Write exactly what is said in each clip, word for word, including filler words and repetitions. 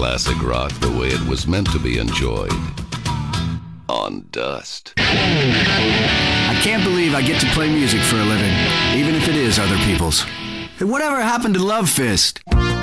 Classic rock the way it was meant to be enjoyed. On Dust. I can't believe I get to play music for a living, even if it is other people's. Hey, whatever happened to Love Fist?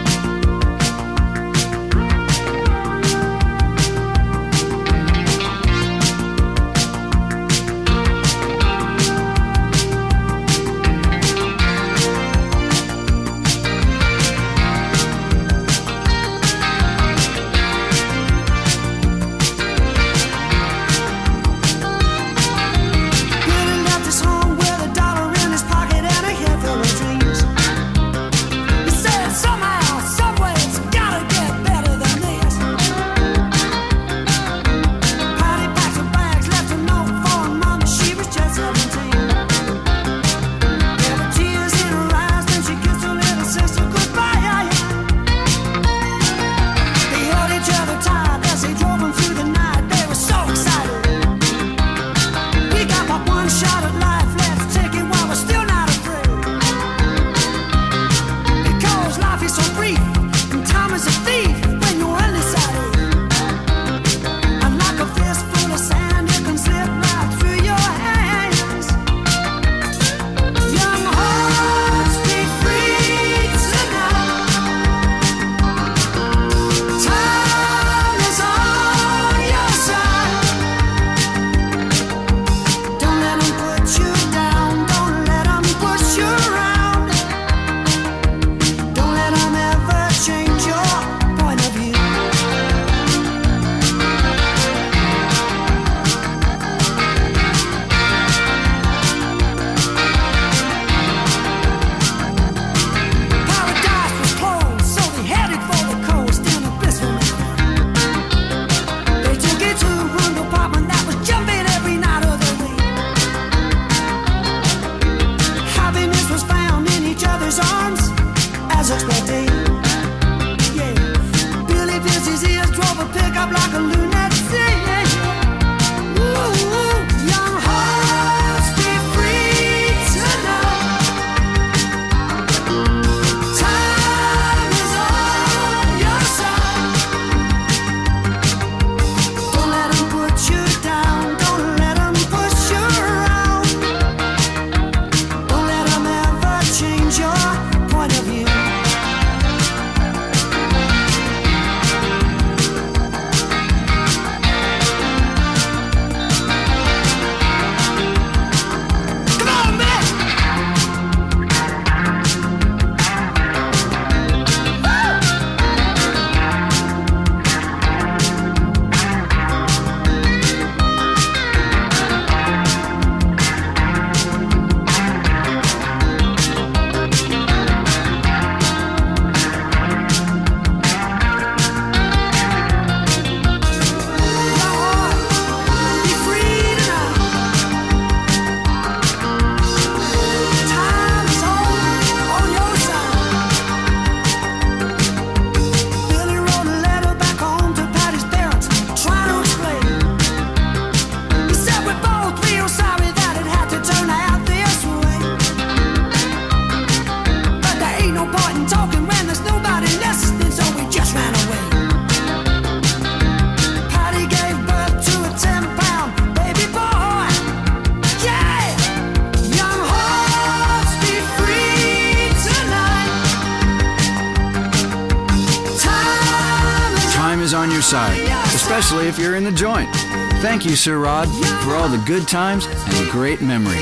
Especially if you're in the joint. Thank you, Sir Rod, for all the good times and great memories.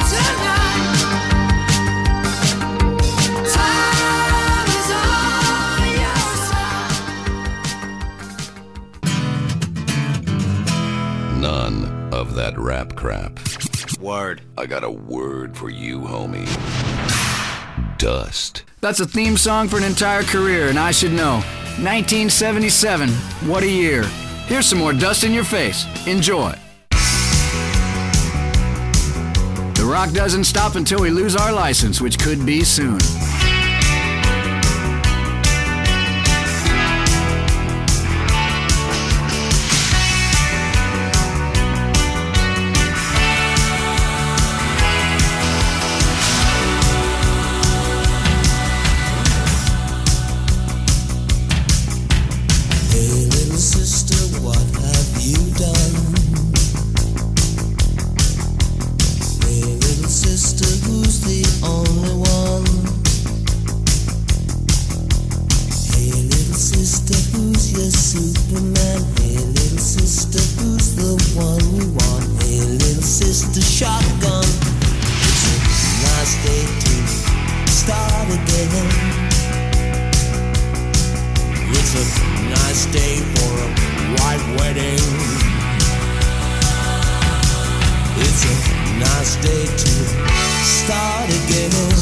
None of that rap crap. Word. I got a word for you, homie. Dust. That's a theme song for an entire career, and I should know. nineteen seventy-seven. What a year. Here's some more Dust in Your Face. Enjoy. The rock doesn't stop until we lose our license, which could be soon. who's your Superman? Hey, little sister, who's the one you want? Hey, little sister, shotgun. It's a nice day to start again. It's a nice day for a white wedding. It's a nice day to start again.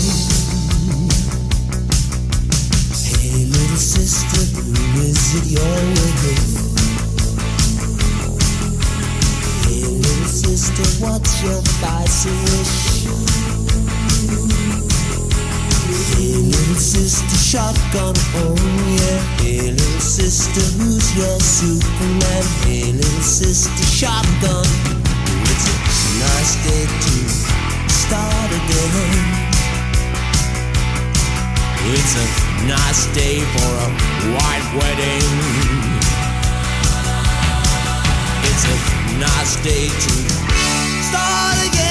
Hey, little sister, who is it you're with? Hey, little sister, what's your vice wish? Hey, little sister, shotgun, oh yeah. Hey, little sister, who's your Superman? Hey, little sister, shotgun. It's a nice day to start again. It's a nice day for a white wedding. It's a nice day to start again.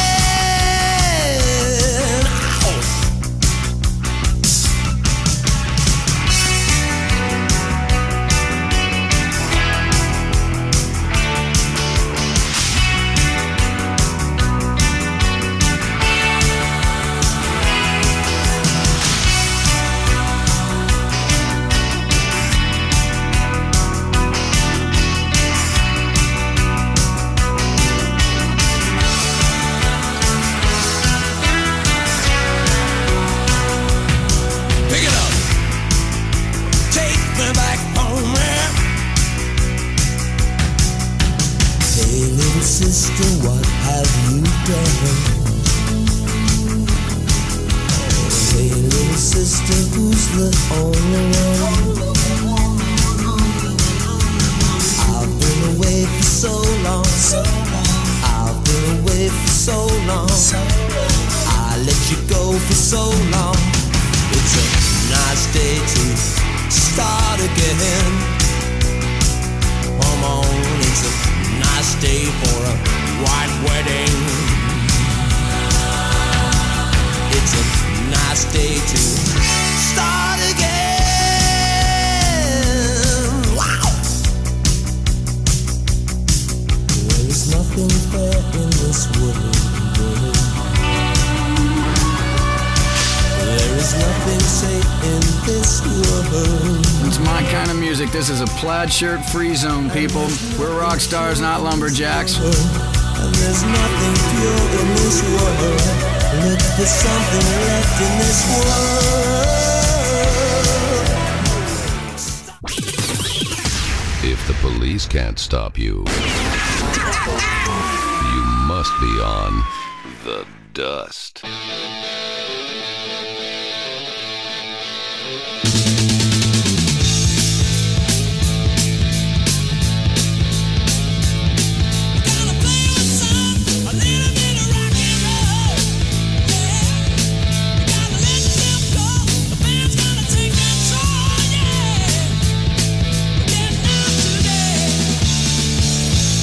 Sister, what have you done? Hey, little sister, who's the only one? I've been away for so long. I've been away for so long. I let you go for so long. It's a nice day to start again. Come on, it's a nice day for a white wedding. It's a nice day to start again. Wow! There is nothing fair in this world. There is nothing safe in this world. It's my kind of music. This is a plaid shirt free zone, people. We're rock stars, not lumberjacks. And there's nothing pure in this world. Look for something left in this world. If the police can't stop you, you must be on the dust.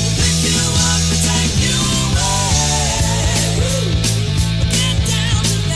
Take you away. Get down to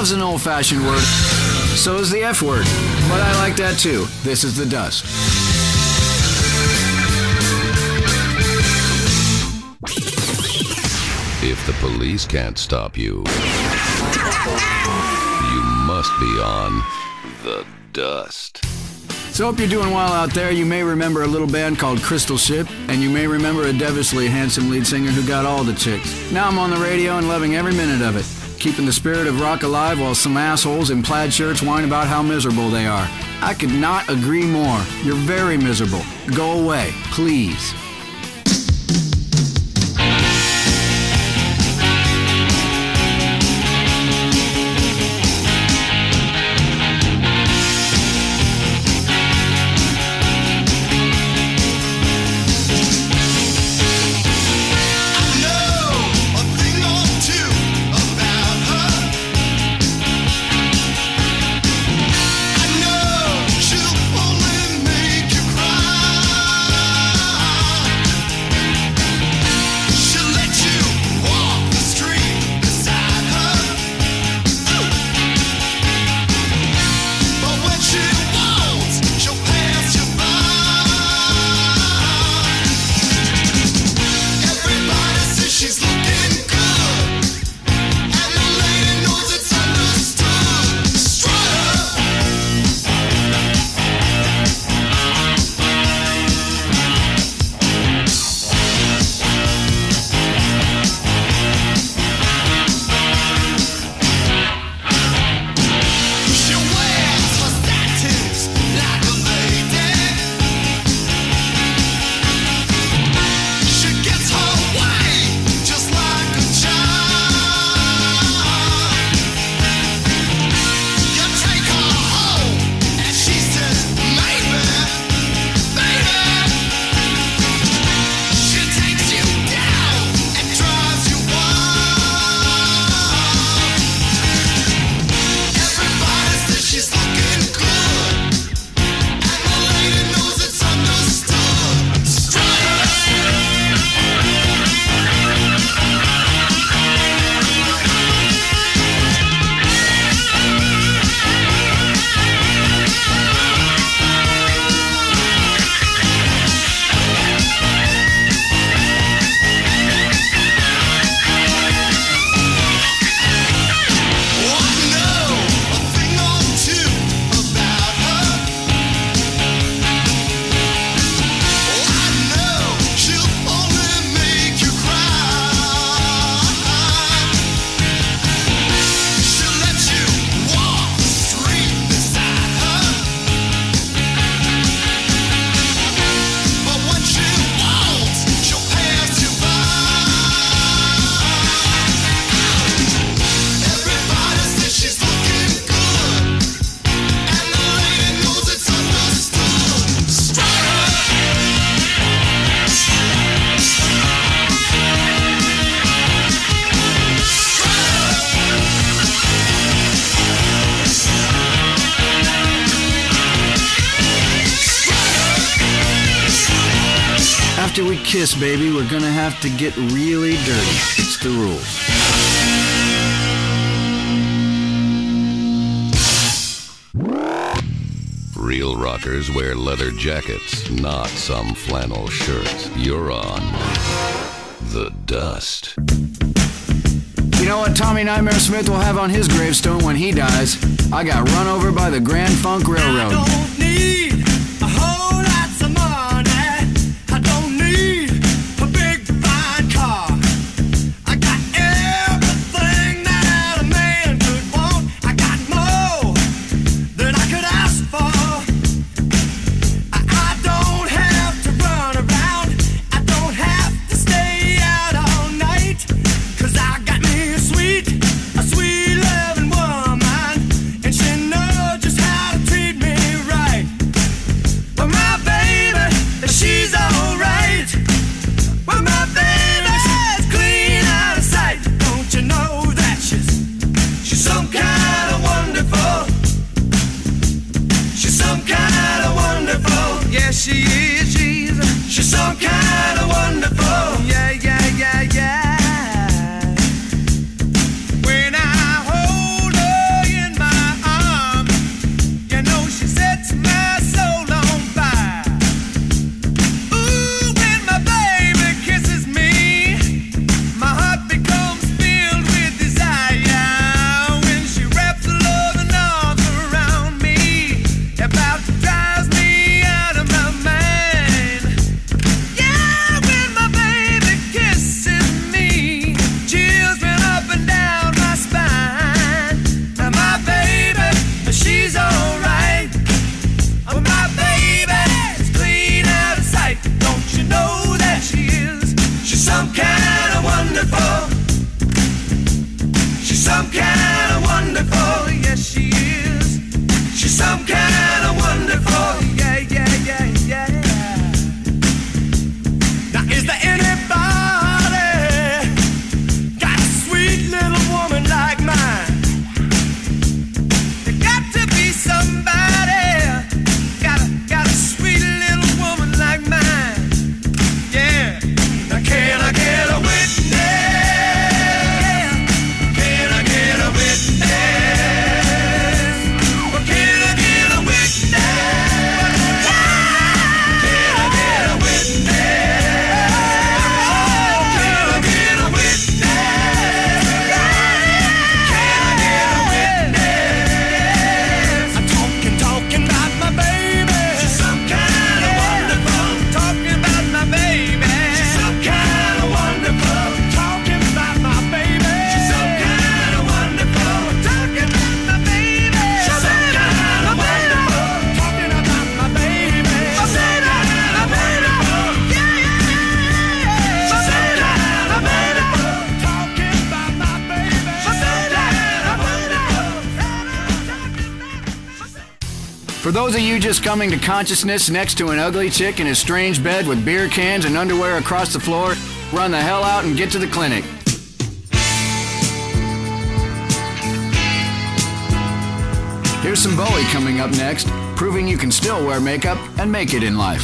loves an old-fashioned word. So is the F word. But I like that too. This is The Dust. If the police can't stop you, you must be on The Dust. So hope you're doing well out there. You may remember a little band called Crystal Ship, and you may remember a devilishly handsome lead singer who got all the chicks. Now I'm on the radio and loving every minute of it, keeping the spirit of rock alive while some assholes in plaid shirts whine about how miserable they are. I could not agree more. You're very miserable. Go away, please. After we kiss, baby, we're gonna have to get really dirty. It's the rules. Real rockers wear leather jackets, not some flannel shirts. You're on The Dust. You know what Tommy Nightmare Smith will have on his gravestone when he dies? I got run over by the Grand Funk Railroad. I don't need a whole lot of money. I don't need a big fine car. I got everything that a man could want. I got more than I could ask for. I, I don't have to run around. I don't have to stay out all night. Cause I got me a sweet, a sweet loving woman. And she knows just how to treat me right. But my baby, she's alright. But my baby's clean out of sight. Don't you know that she's, she's some kind of wonderful. She's some kind of wonderful. Yeah, she is, she's, she's some kind of wonderful. Yeah, yeah, yeah, yeah. When I hold her those of you just coming to consciousness next to an ugly chick in a strange bed with beer cans and underwear across the floor, run the hell out and get to the clinic. Here's some Bowie coming up next, proving you can still wear makeup and make it in life.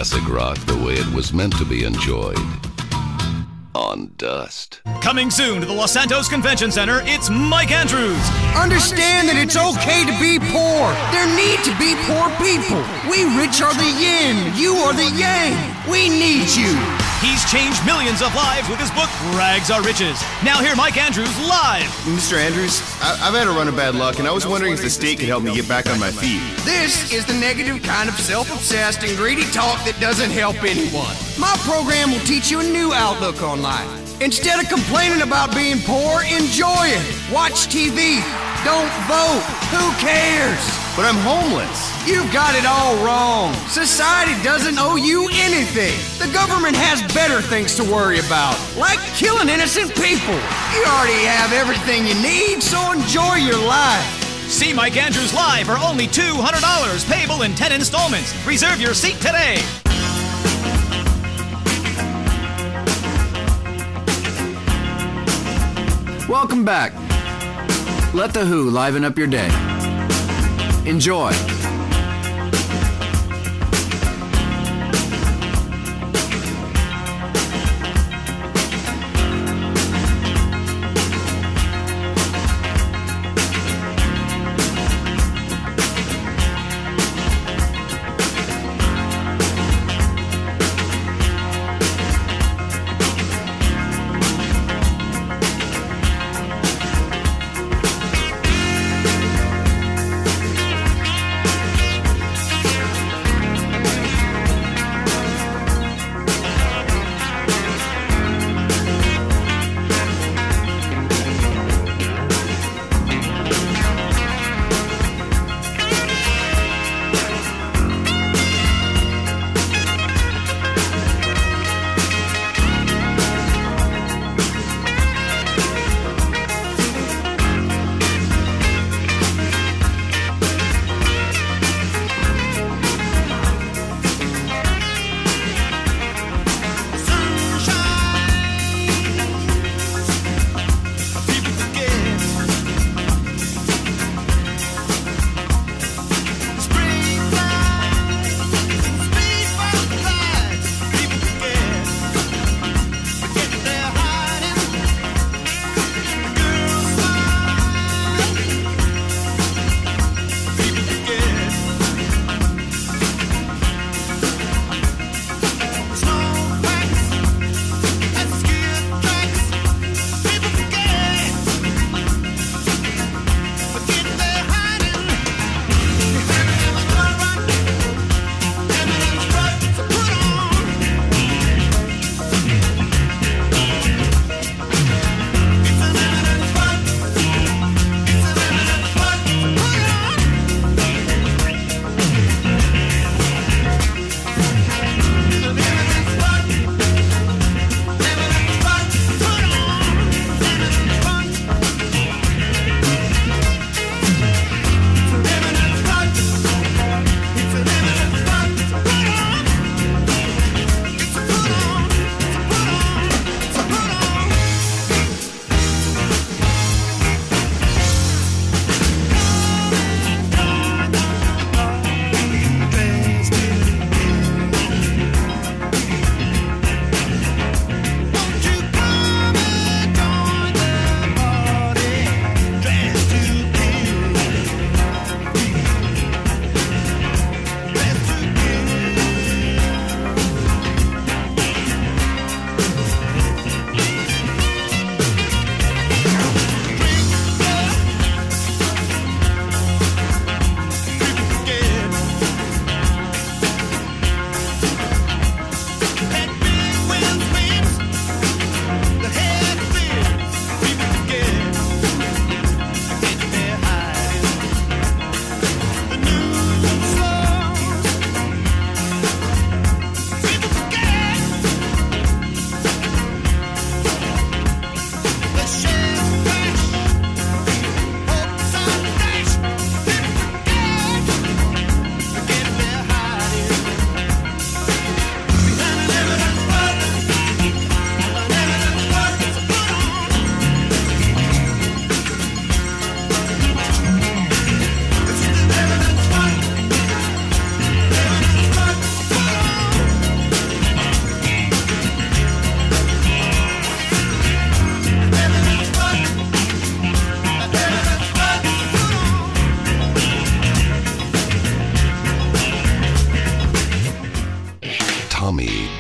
classic rock the way it was meant to be enjoyed. On Dust. Coming soon to the Los Santos Convention Center, it's Mike Andrews. Understand that it's okay to be poor. There need to be poor people. We rich are the yin, you are the yang. We need you. He's changed millions of lives with his book, Rags Are Riches. Now hear Mike Andrews live. Mister Andrews, I- I've had a run of bad luck, and I was wondering if the state could help me get back on my feet. This is the negative kind of self-obsessed and greedy talk that doesn't help anyone. My program will teach you a new outlook on life. Instead of complaining about being poor, enjoy it. Watch T V. Don't vote. Who cares? But I'm homeless. You've got it all wrong. Society doesn't owe you anything. The government has better things to worry about, like killing innocent people. You already have everything you need, so enjoy your life. See Mike Andrews live for only two hundred dollars, payable in ten installments. Reserve your seat today. Welcome back. Let The Who liven up your day. Enjoy.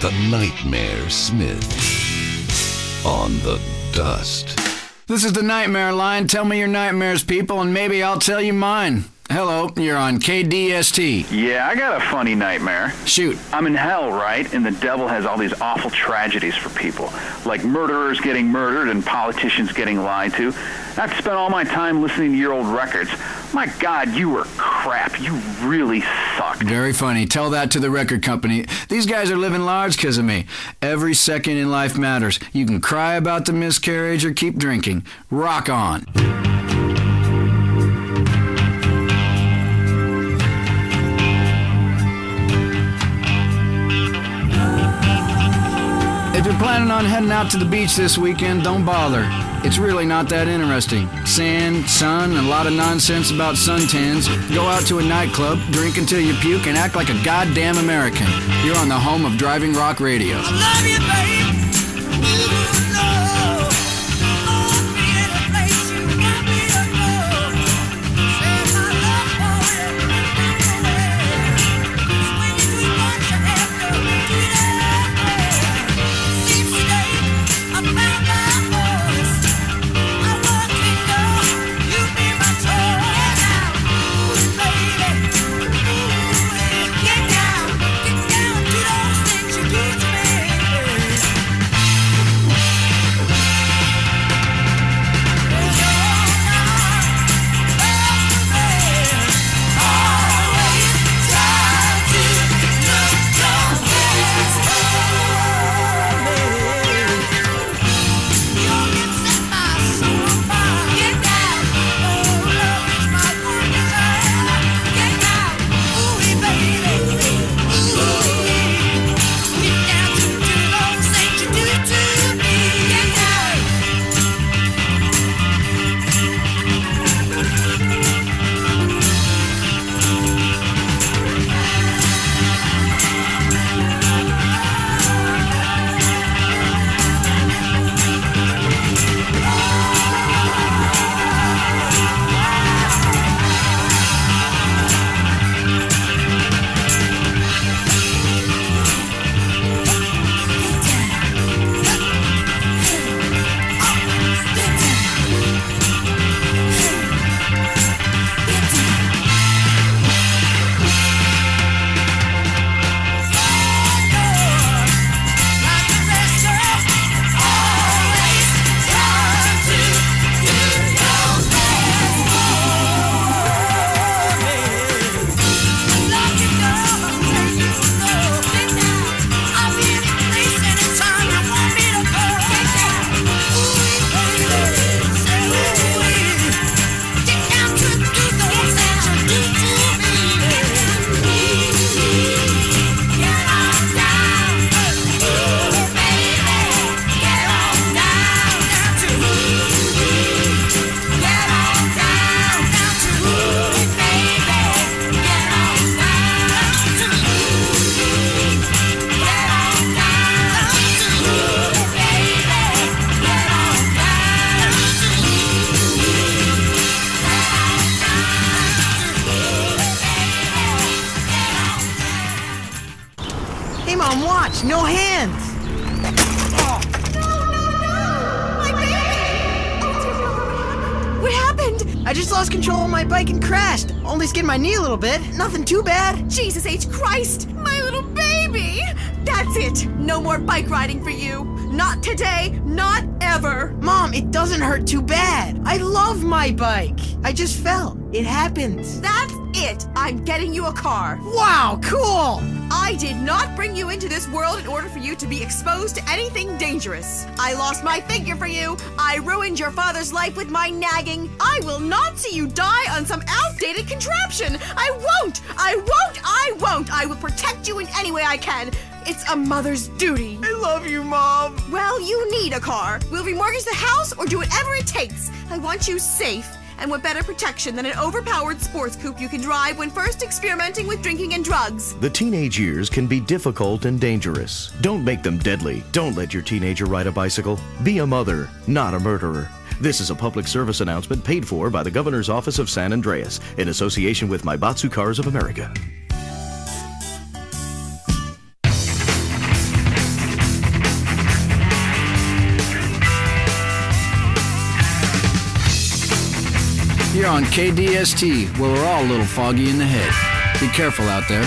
the Nightmare Smith on the Dust. This is the Nightmare Line. Tell me your nightmares, people, and maybe I'll tell you mine. Hello, you're on K D S T. Yeah, I got a funny nightmare. Shoot. I'm in hell, right? And the devil has all these awful tragedies for people, like murderers getting murdered and politicians getting lied to. I have to spend all my time listening to your old records. My God, you were crap. You really sucked. Very funny. Tell that to the record company. These guys are living large because of me. Every second in life matters. You can cry about the miscarriage or keep drinking. Rock on. If you're planning on heading out to the beach this weekend, don't bother. It's really not that interesting. Sand, sun, and a lot of nonsense about suntans. Go out to a nightclub, drink until you puke, and act like a goddamn American. You're on the home of Driving Rock Radio. I love you, babe. You know. I'll be in a place you want me to go. Say my love for you, I'm aware. Swing it too much, I have to do that. Seems today I found my voice. I want to know you be my toy now. Ooh, baby. Ooh, get down, get down to those things you do to me. Hey, Mom, watch! No hands! What happened? I just lost control of my bike and crashed. Only skinned my knee a little bit. Nothing too bad. Jesus H. Christ! My little baby! That's it! No more bike riding for you! Not today, not ever! Mom, it doesn't hurt too bad. I love my bike. I just fell. It happens. That's it! I'm getting you a car. Wow, cool! I did not bring you into this world in order for you to be exposed to anything dangerous. I lost my figure for you. I ruined your father's life with my nagging. I will not see you die on some outdated contraption. I won't! I won't! I won't! I will protect you in any way I can. It's a mother's duty. I love you, Mom. Well, you need a car. We'll remortgage the house or do whatever it takes. I want you safe. And what better protection than an overpowered sports coupe you can drive when first experimenting with drinking and drugs? The teenage years can be difficult and dangerous. Don't make them deadly. Don't let your teenager ride a bicycle. Be a mother, not a murderer. This is a public service announcement paid for by the Governor's Office of San Andreas in association with Maibatsu Cars of America. You're on K D S T, where we're all a little foggy in the head. Be careful out there.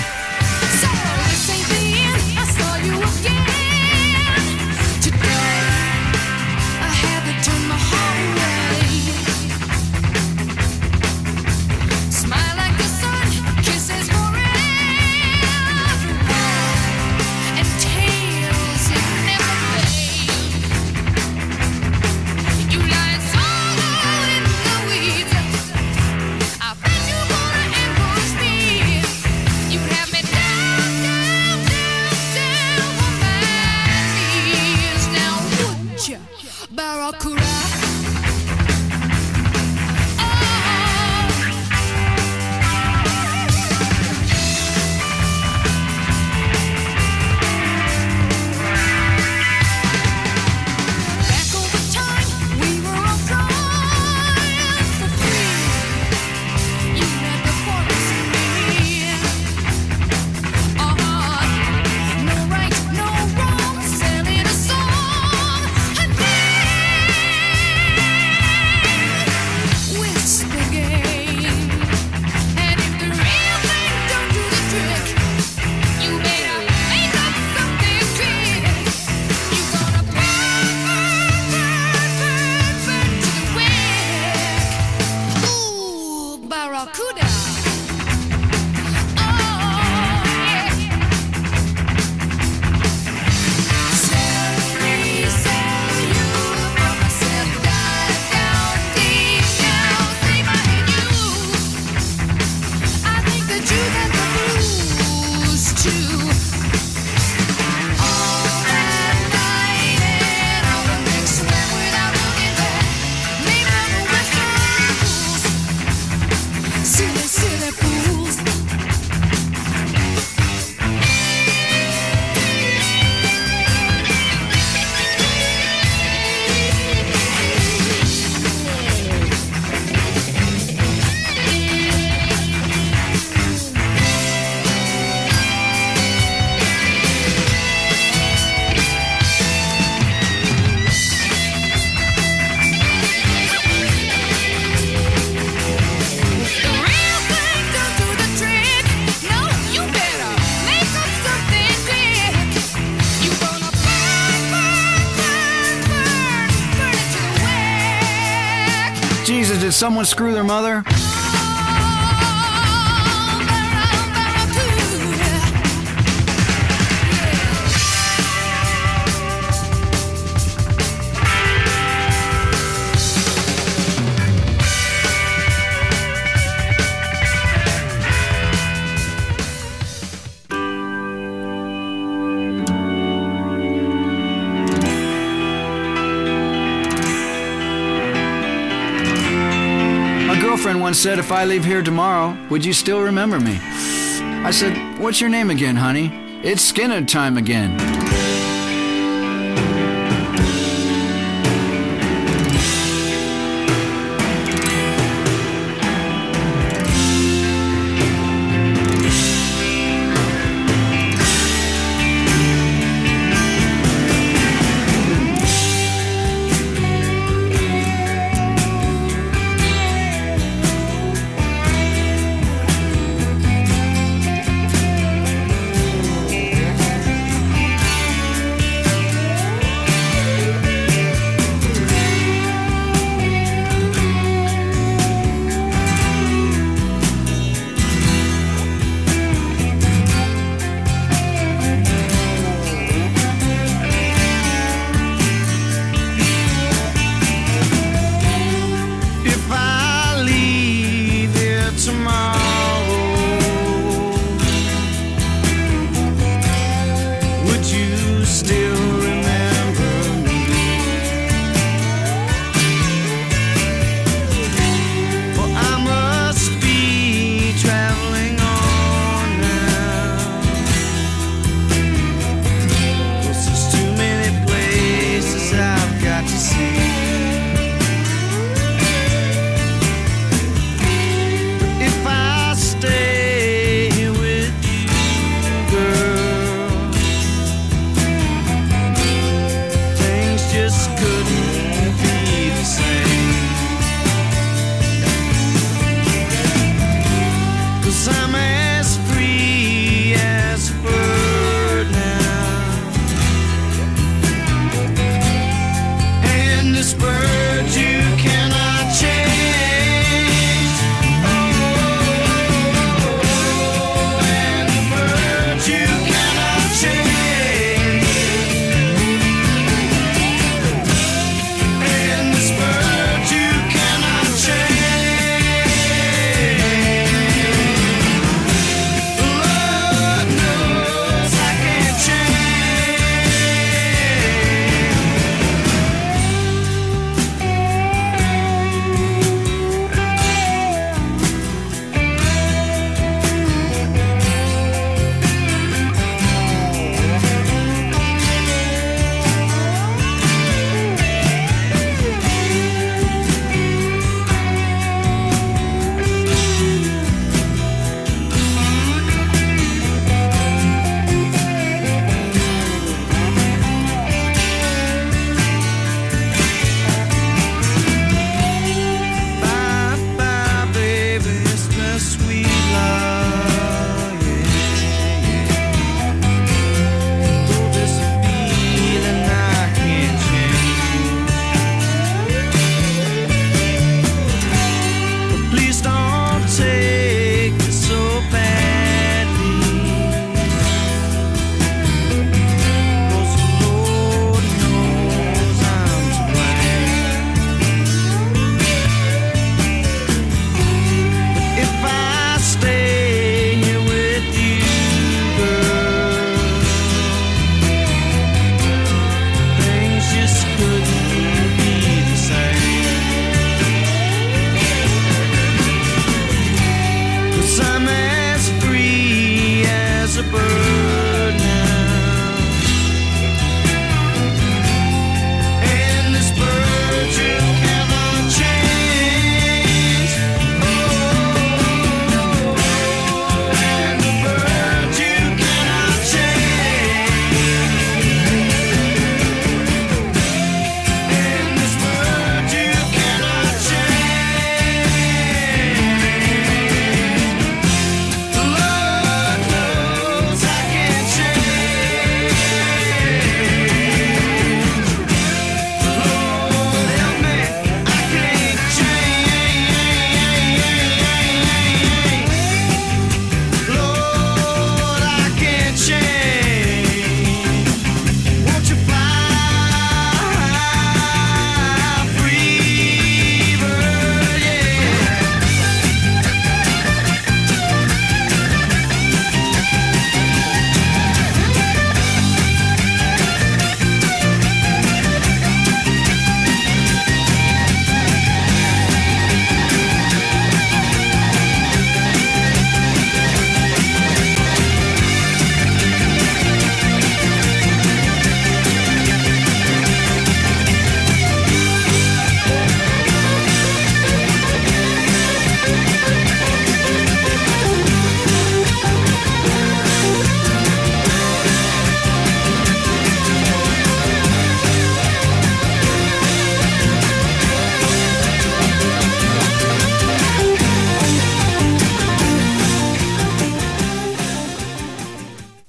Jesus, did someone screw their mother? Friend once said, if I leave here tomorrow, would you still remember me? I said, what's your name again, honey? It's Skinner time again.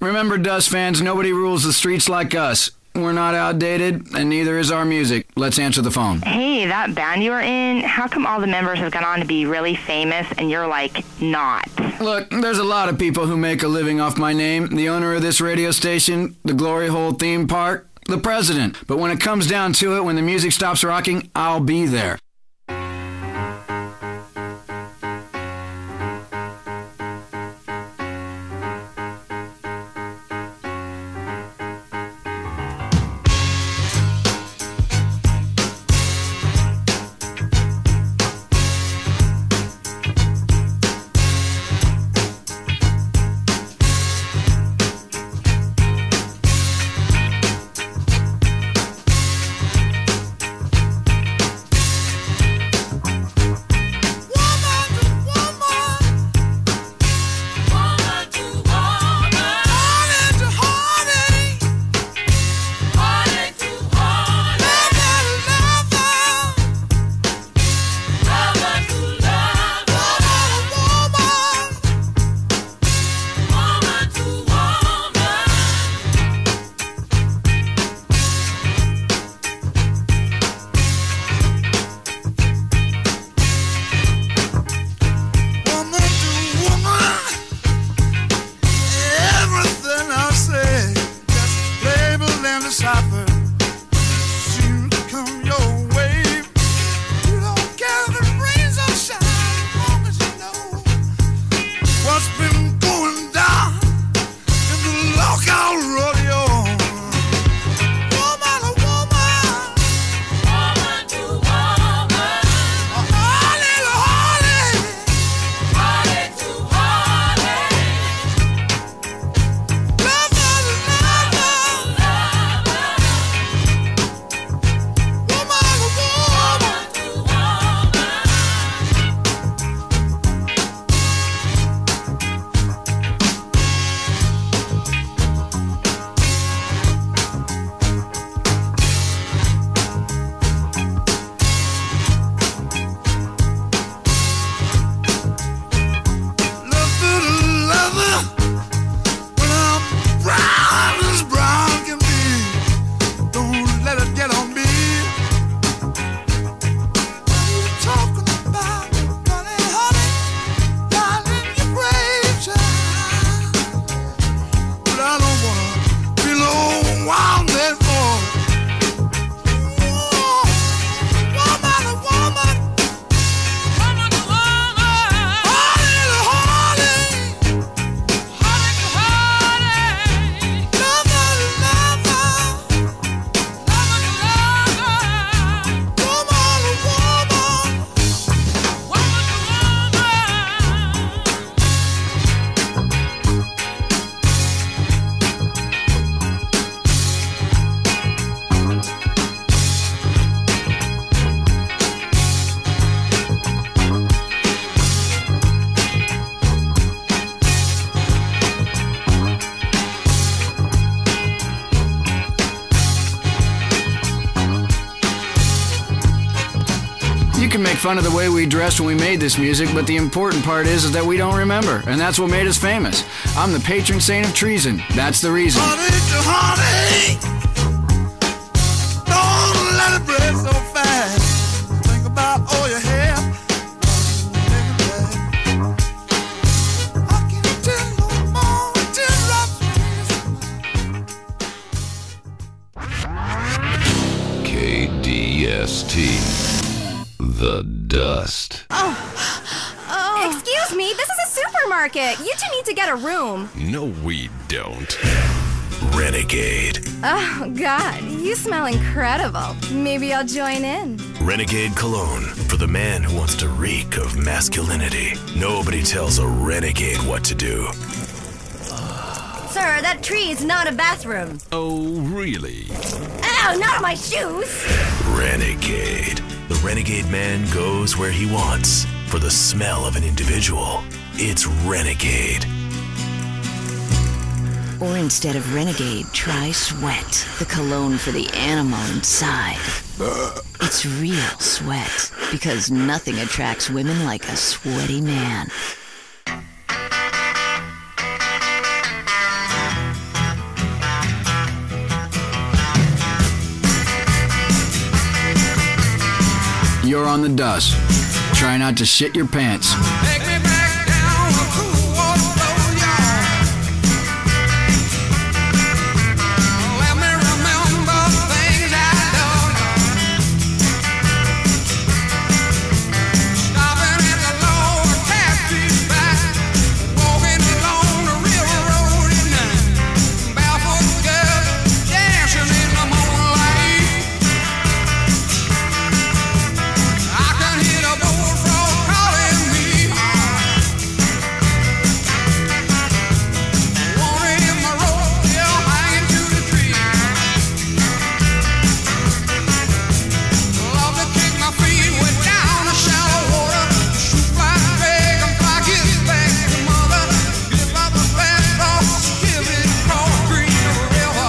Remember, Dust fans, nobody rules the streets like us. We're not outdated, and neither is our music. Let's answer the phone. Hey, that band you were in, how come all the members have gone on to be really famous and you're, like, not? Look, there's a lot of people who make a living off my name. The owner of this radio station, the Glory Hole theme park, the president. But when it comes down to it, when the music stops rocking, I'll be there. can make fun of the way we dressed when we made this music, but the important part is, is that we don't remember, and that's what made us famous. I'm the patron saint of treason. That's the reason. Honey to honey, don't let it break so fast. Think about all you have. K D S T, The Dust. Oh. oh. Excuse me, this is a supermarket. You two need to get a room. No, we don't. Renegade. Oh, God, you smell incredible. Maybe I'll join in. Renegade Cologne, for the man who wants to reek of masculinity. Nobody tells a renegade what to do. Sir, that tree is not a bathroom. Oh, really? Ow, not on my shoes! Renegade. The renegade man goes where he wants. For the smell of an individual, it's Renegade. Or instead of Renegade, try Sweat, the cologne for the animal inside. It's real sweat, because nothing attracts women like a sweaty man. you're on the dust. Try not to shit your pants. Take me back down a cool water flow, y'all. Let me remember things I've done. Stopping at the Lord Taxi back, walking along the railroad at night. Barefoot girls dancing in the moonlight. I can hear the bullfrog calling me. Wanna hear my roadkill hanging to the tree. Love to kick my feet way down the shallow water. Shoot like a dragonfly, get back to mother. Give up the fast cross, give it across Green River.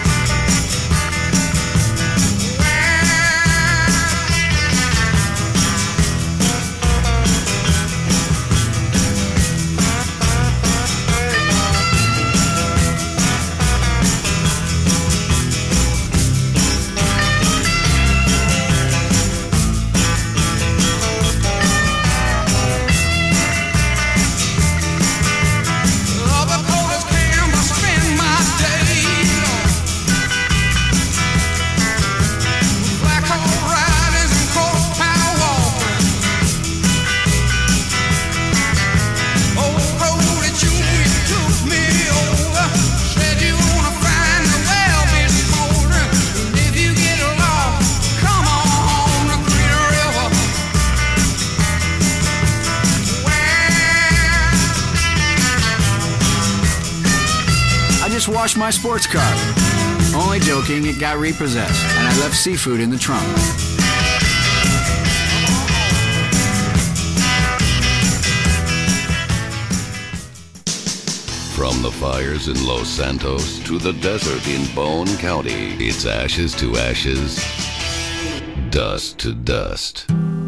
Love the coldest can, but spend my days black hole riders and cold power walking. Old road that you took me over, said you wanna find the well been smoldering. And if you get lost, come on home to Green River. I just washed my sports car. Only joking, it got repossessed, and I left seafood in the trunk. From the fires in Los Santos to the desert in Bone County, it's ashes to ashes, dust to dust.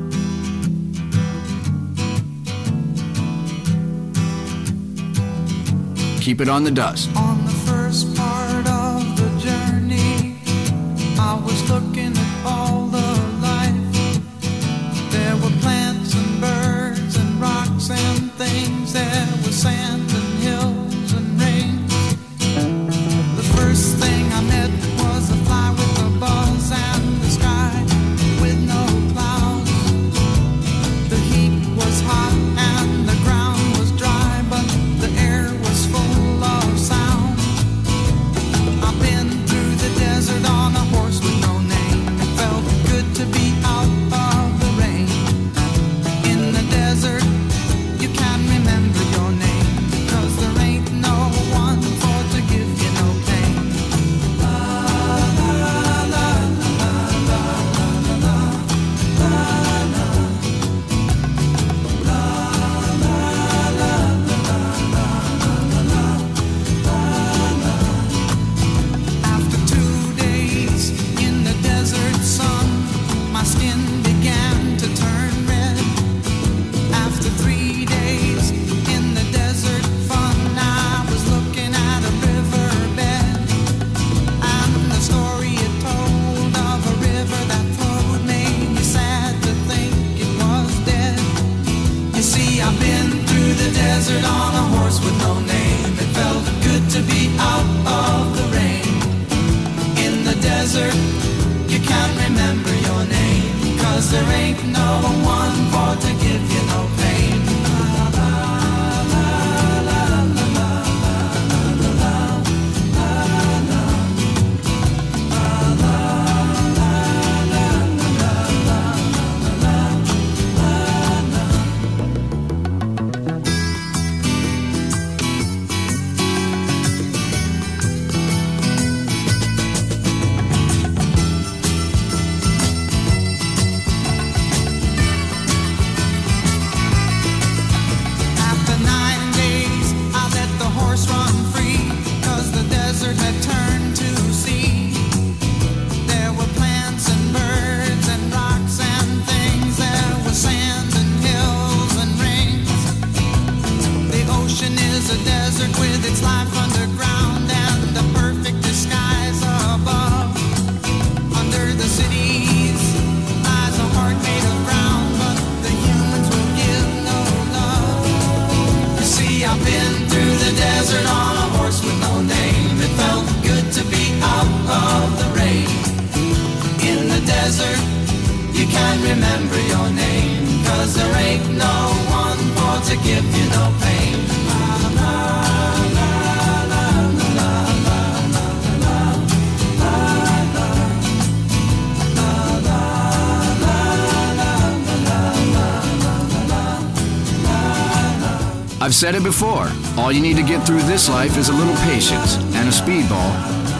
Keep it on the dust. On the first part of the journey, I was looking at all the life. There were plants and birds and rocks and things. There was sand and hills and rain. The first thing I met was a fly with a buzz and the sky with no clouds. The heat was hot and the ground was dry, but the air was full of sound. I've been through the desert on a horse with no name. It felt good to be out of the rain. In the desert, you can remember your name, 'cause there ain't no one for to give you no pain. La la la la la la la la la After two days in the desert sun, my skin began to turn red. After three days in the desert fun, I was looking at a riverbed, and the story it told of a river that flowed made me sad to think it was dead. You see, I've been through the desert on a horse with no name. It felt good to be out of the rain. In the desert, you can't remember your name, 'cause there ain't no one for to give you no pain. After nine days, I let the horse run free, 'cause the desert had turned to sea. There were plants and birds and rocks and things. There was sand and hills and rings. The ocean is a desert with its life underground and the perfect disguise above. Under the cities lies a heart made of brass. I've said it before. All you need to get through this life is a little patience and a speedball.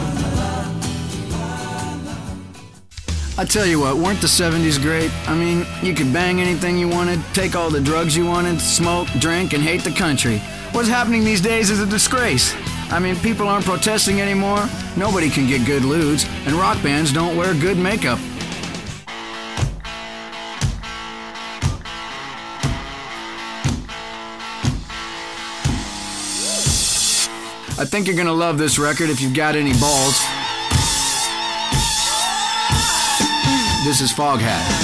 I tell you what, weren't the seventies great? I mean, you could bang anything you wanted, take all the drugs you wanted, smoke, drink, and hate the country. What's happening these days is a disgrace. I mean, people aren't protesting anymore, nobody can get good lewds, and rock bands don't wear good makeup. I think you're gonna love this record if you've got any balls. This is Foghat.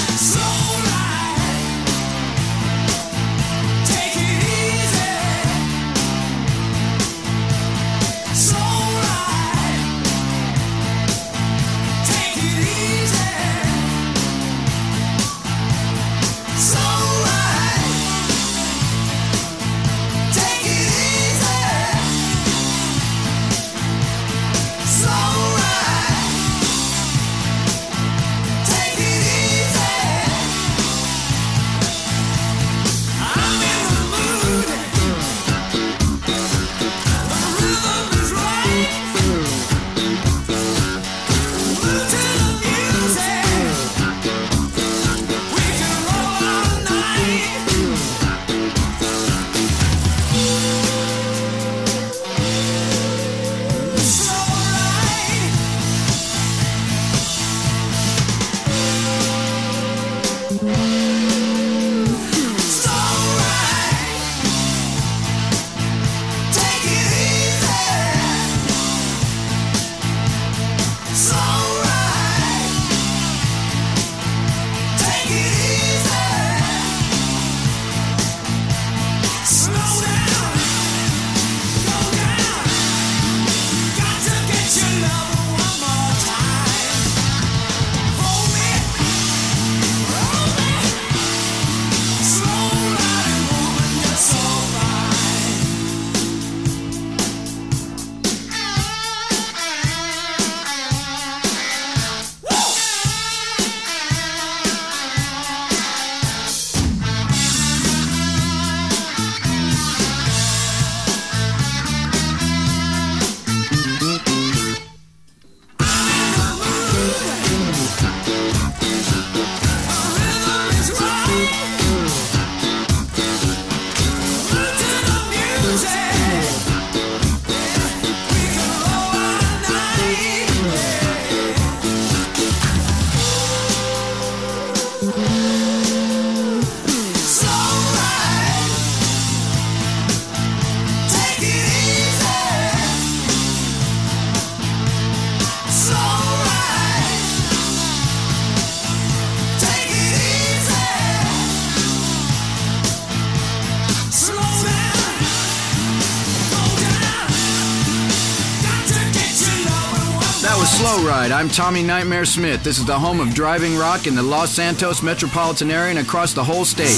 Slow Ride. I'm Tommy Nightmare Smith. This is the home of driving rock in the Los Santos metropolitan area and across the whole state.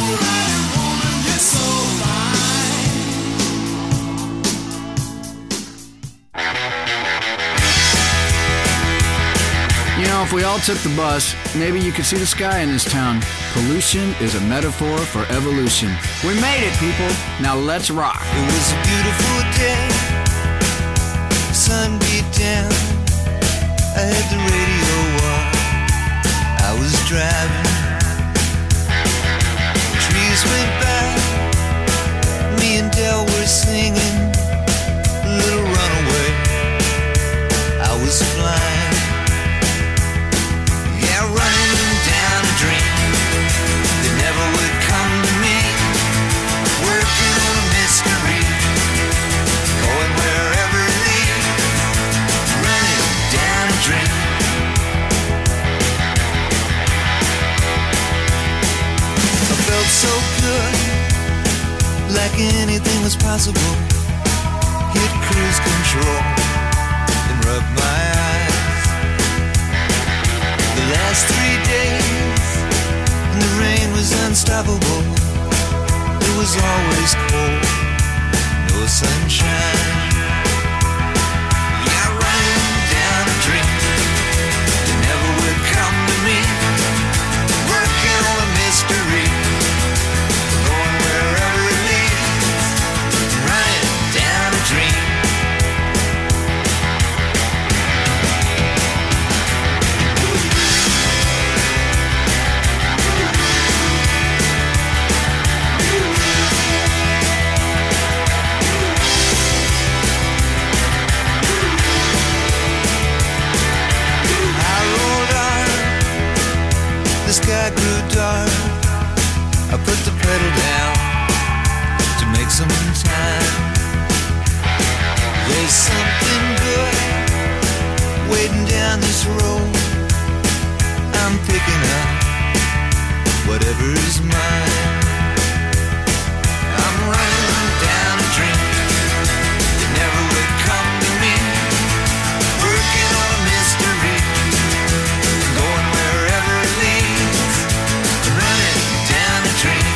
You know, if we all took the bus, maybe you could see the sky in this town. Pollution is a metaphor for evolution. We made it, people. Now let's rock. It was a beautiful day. Sun beat down. I had the radio on. I was driving. Trees went by. Me and Del were singing Little Runaway. I was flying. Yeah, running down a dream that never would come to me. Working on a mystery. Going wherever it leads. Running down a dream. I felt so good, like anything was possible. Hit cruise control and rub my eyes. The last three days, and the rain was unstoppable. It was always cold, no sunshine. Yeah, running down a dream that never would come to me. Working on a mystery, going wherever it leads. put the pedal down to make some time. There's something good waiting down this road. I'm picking up whatever is mine. I'm running down a dream that never would come to me. Working on a mystery, going wherever it leads. Running down a dream.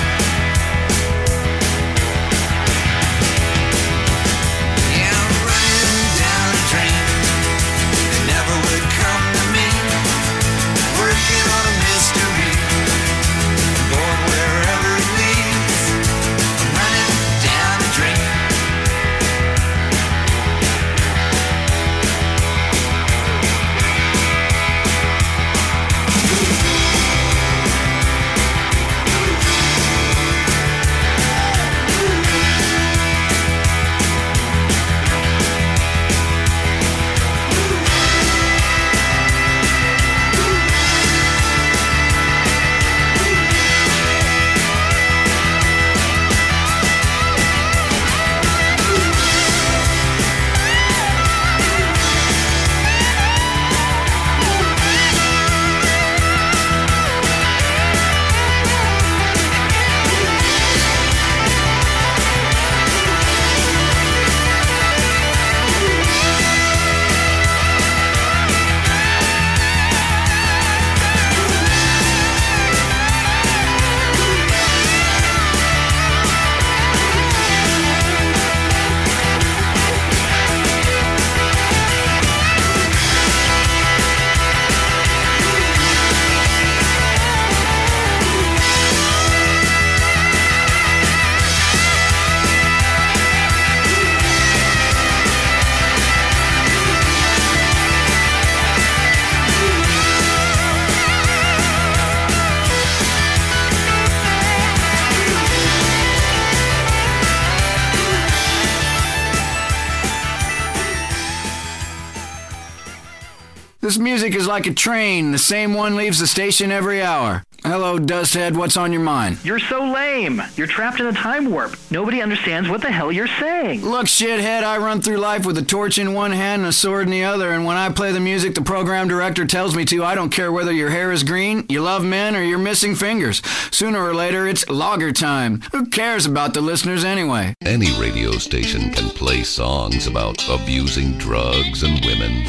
Yeah, I'm running down a dream that never would come to me. Working on a mystery, going wherever it leads. I'm running down a dream. This music is like a train. The same one leaves the station every hour. Hello, Dusthead. What's on your mind? You're so lame. You're trapped in a time warp. Nobody understands what the hell you're saying. Look, shithead, I run through life with a torch in one hand and a sword in the other, and when I play the music the program director tells me to, I don't care whether your hair is green, you love men, or you're missing fingers. Sooner or later, it's logger time. Who cares about the listeners anyway? Any radio station can play songs about abusing drugs and women.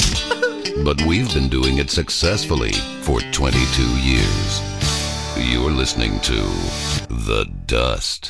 But we've been doing it successfully for twenty-two years. You're listening to The Dust.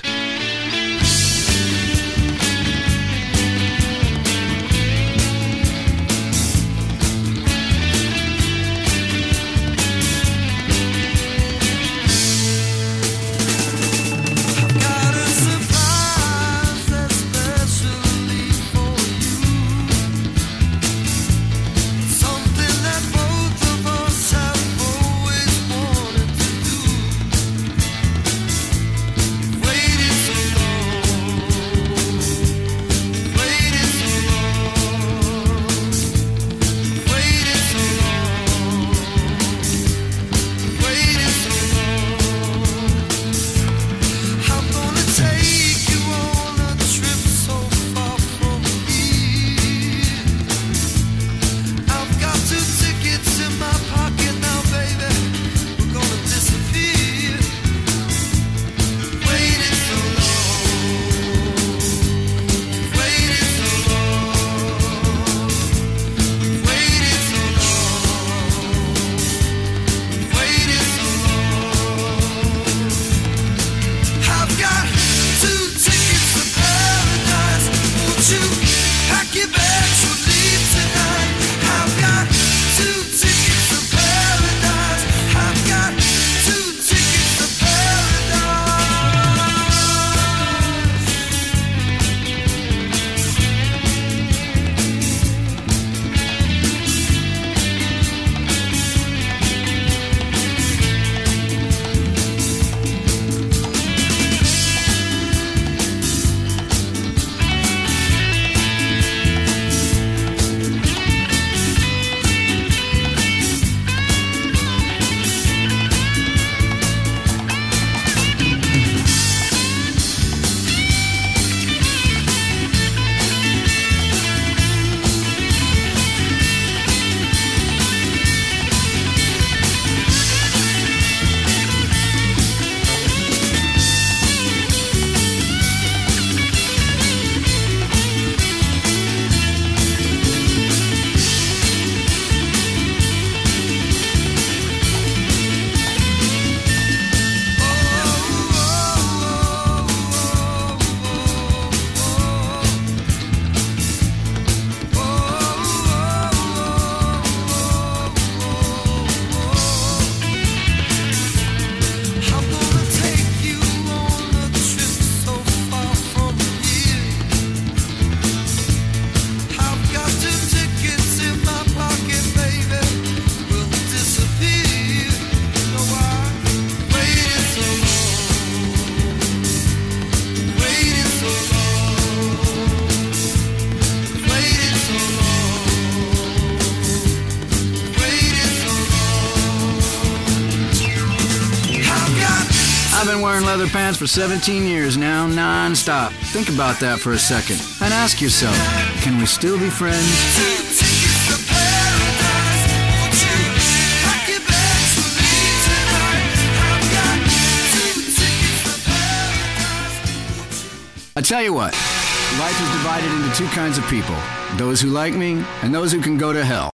wearing leather pants for seventeen years now, non-stop. Think about that for a second. And ask yourself, can we still be friends? I tell you what, life is divided into two kinds of people. Those who like me and those who can go to hell.